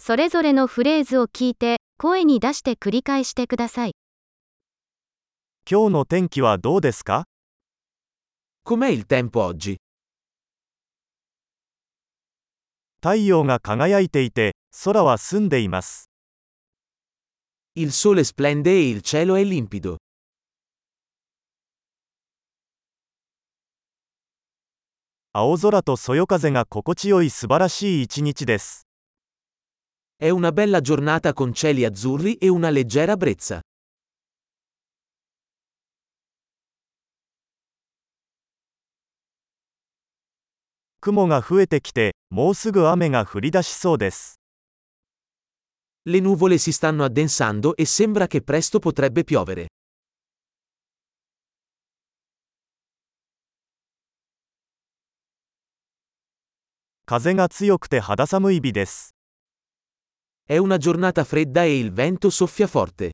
それぞれのフレーズを聞いて、声に出して繰り返してください。 今日の天気はどうですか？ Com'è il tempo oggi? 太陽が輝いていて、空は澄んでいます。 Il sole splende e il cielo è limpido. 青空とそよ風が心地よい素晴らしい一日です。 È una bella giornata con cieli azzurri e una leggera brezza. 雲が増えてきて、もうすぐ雨が降り出しそうです。 Le nuvole si stanno addensando e sembra che presto potrebbe piovere. 風が強くて肌寒い日です。 È una giornata fredda e il vento soffia forte.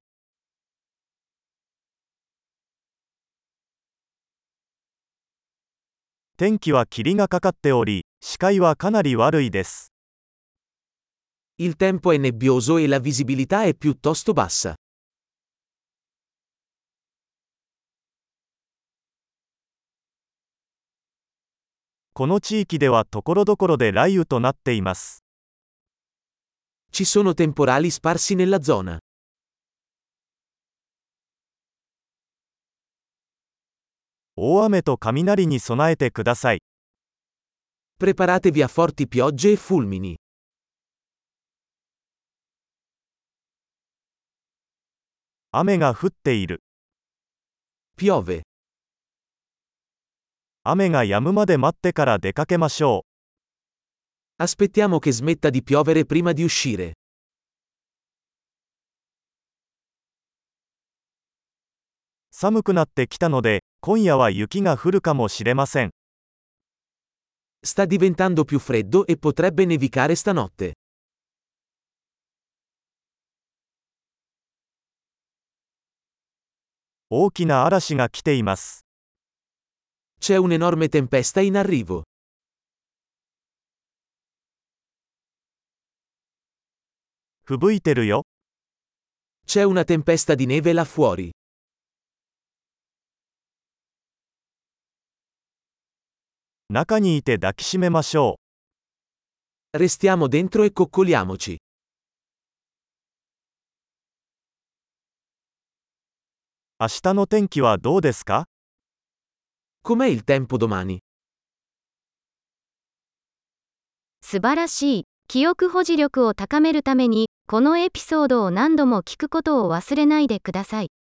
天気は霧がかかっており、視界はかなり悪いです。 Il tempo è nebbioso e la visibilità è piuttosto bassa. この地域では所々で雷雨となっています。 Ci sono temporali sparsi nella zona. 大雨と雷に備えてください。 Preparatevi a forti piogge e fulmini. 雨が降っている。 Piove. 雨が止むまで待ってから出かけましょう。 Aspettiamo che smetta di piovere prima di uscire. 寒くなってきたので、今夜は雪が降るかもしれません。 Sta diventando più freddo e potrebbe nevicare stanotte. 大きな嵐が来ています。 C'è un'enorme tempesta in arrivo. 吹雪いてるよ。 C'è una tempesta di neve là fuori. 中にいて抱きしめましょう。 Restiamo dentro e coccoliamoci. 明日の天気はどうですか？ Com'è il tempo domani? 素晴らしい。記憶保持力を高めるために、このエピソードを何度も聞くことを忘れないでください。